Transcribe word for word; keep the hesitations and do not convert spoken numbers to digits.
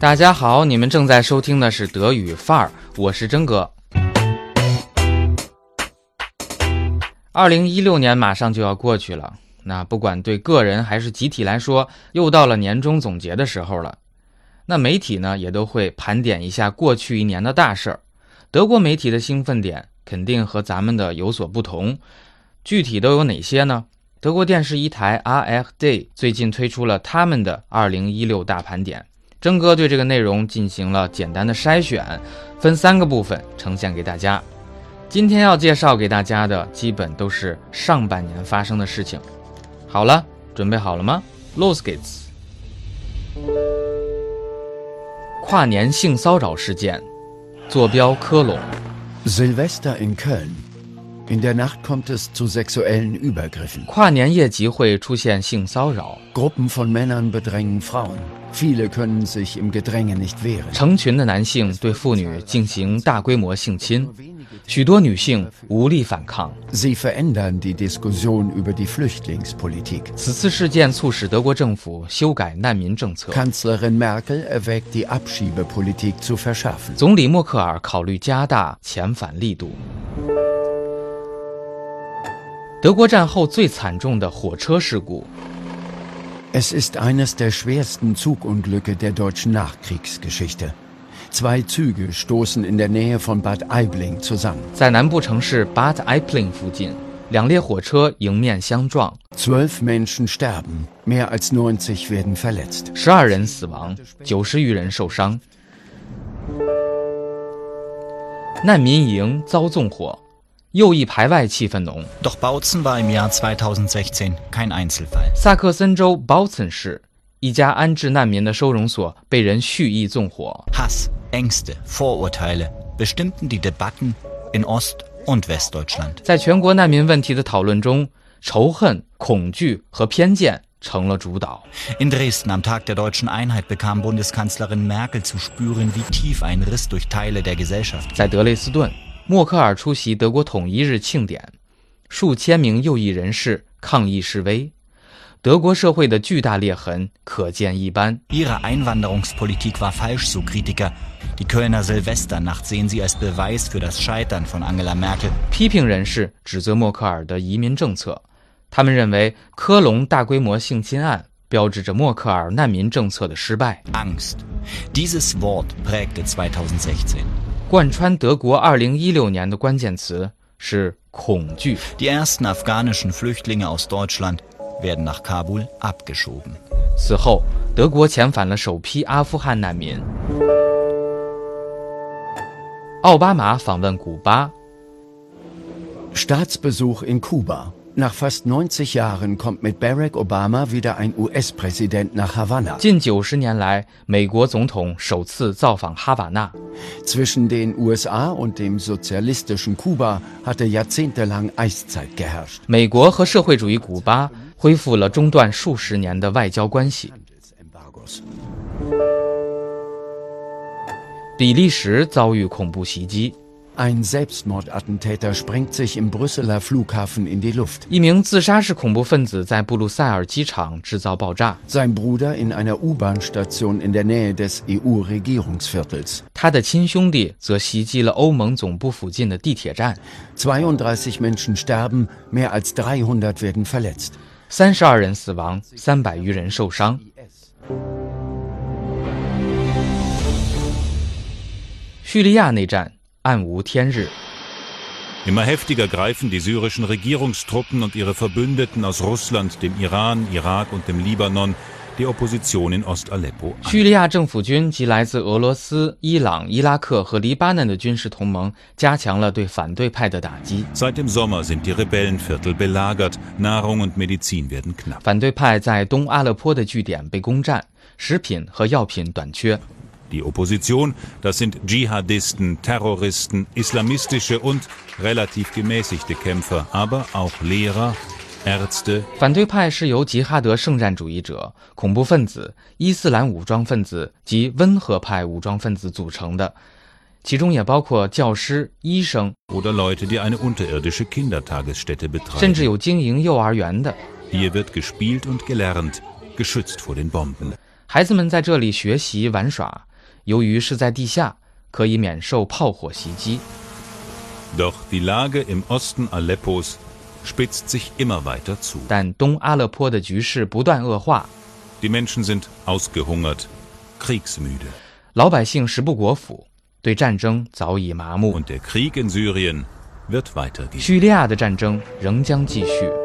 大家好，你们正在收听的是德语范儿，我是真哥。二零一六年马上就要过去了，那不管对个人还是集体来说，又到了年终总结的时候了。那媒体呢，也都会盘点一下过去一年的大事儿。德国媒体的兴奋点肯定和咱们的有所不同，具体都有哪些呢？德国电视一台 A R D 最近推出了他们的二零一六大盘点，真哥对这个内容进行了简单的筛选，分三个部分呈现给大家。今天要介绍给大家的基本都是上半年发生的事情。好了，准备好了吗？ Los geht's。 跨年性骚扰事件，坐标科隆。 Silvester in Köln. In der Nacht kommt es zu sexuellen Übergriffen. 跨年夜集会出现性骚扰， Gruppen von Männern bedrängen Frauen. Viele können sich im Gedränge nicht wehren. 成群的男性对妇女进行大规模性侵，许多女性无力反抗。 Sie verändern die Diskussion über die Flüchtlingspolitik. 此次事件促使德国政府修改难民政策， Kanzlerin Merkel erwägt, die Abschiebepolitik zu verschärfen. 总理默克尔考虑加大遣返力度。德国战后最惨重的火车事故， Es ist eines der schwersten Zugunglücke der deutschen Nachkriegsgeschichte. Zwei Züge stoßen in der Nähe von Bad Aibling zusammen. 在南部城市 Bad Aibling 附近，两列火车迎面相撞， Zwölf Menschen sterben, mehr als neunzig werden verletzt. 十二人死亡，九十余人受伤。难民营遭纵火，右翼排外气氛浓。 Doch Bautzen war im Jahr zweitausendsechzehn kein Einzelfall. 萨克森州 Bautzen 市一家安置难民的收容所被人蓄意纵火。 Hass, Ängste, Vorurteile bestimmten die Debatten in Ost- und Westdeutschland. 在全国难民问题的讨论中，仇恨、恐惧和偏见成了主导。 In Dresden am Tag der deutschen Einheit bekam Bundeskanzlerin Merkel zu spüren, wie tief ein Riss durch Teile der Gesellschaft. 在德累斯顿，默克尔出席德国统一日庆典，数千名右翼人士抗议示威。德国社会的巨大裂痕可见一斑。 Ihre Einwanderungspolitik war falsch, so Kritiker. Die Kölner Silvesternacht sehen sie als Beweis für das Scheitern von Angela Merkel. 批评人士指责默克尔的移民政策，他们认为科隆大规模性侵案标志着默克尔难民政策的失败。 Angst. Dieses Wort prägte zweitausendsechzehn. 贯穿德国二零一六年的关键词是恐惧。 Die ersten afghanischen Flüchtlinge aus Deutschland werden nach Kabul abgeschoben. 此后，德国遣返了首批阿富汗难民。奥巴马访问古巴， Staatsbesuch in Kuba. Nach fast neunzig Jahren kommt mit Barack Obama wieder ein U S-Präsident nach Havanna. 近九十年来，美国总统首次造访哈瓦那。 Zwischen den U S A und dem sozialistischen Kuba hatte jahrzehntelang Eiszeit geherrscht. 美国和社会主义古巴恢复了中断数十年的外交关系。 比利时遭遇恐怖袭击， Ein Selbstmordattentäter sprengt sich im Brüsseler Flughafen in die Luft. 一名自杀式恐怖分子在布鲁塞尔机场制造爆炸， Sein Bruder in einer U-Bahn-Station in der Nähe des E U-Regierungsviertels. 他的亲兄弟则袭击了欧盟总部附近的地铁站， zweiunddreißig Menschen sterben, mehr als dreihundert werden verletzt. 三十二人死亡，三百余人受伤。叙利亚内战暗无天日。 Immer heftiger greifen die syrischen Regierungstruppen und ihre Verbündeten aus Russland, dem Iran, Irak und dem Libanon die Opposition in Ost-Aleppo an. 叙利亚政府军及来自俄罗斯、伊朗、伊拉克和黎巴嫩的军事同盟加强了对反对派的打击。 Seit dem Sommer sind die Rebellenviertel belagert, Nahrung und Medizin werden knapp. 反对派在东阿勒颇的据点被攻占，食品和药品短缺。 Die Opposition, das sind Dschihadisten, Terroristen, islamistische und relativ gemäßigte Kämpfer, aber auch Lehrer, Ärzte. 反对派是由吉哈德圣战主义者、恐怖分子、伊斯兰武装分子及温和派武装分子组成的，其中也包括教师、医生， Oder Leute, die eine unterirdische Kindertagesstätte betreiben. 甚至有经营幼儿园的。 Hier wird gespielt und gelernt, geschützt vor den Bomben. 孩子们在这里学习玩耍， 由于是在地下，可以免受炮火袭击。 Doch die Lage im Osten Aleppos spitzt sich immer weiter zu. 但东阿勒颇的局势不断恶化， Die Menschen sind ausgehungert, kriegsmüde. 老百姓食不果腹，对战争早已麻木。 Und der Krieg in Syrien wird weitergehen. 叙利亚的战争仍将继续。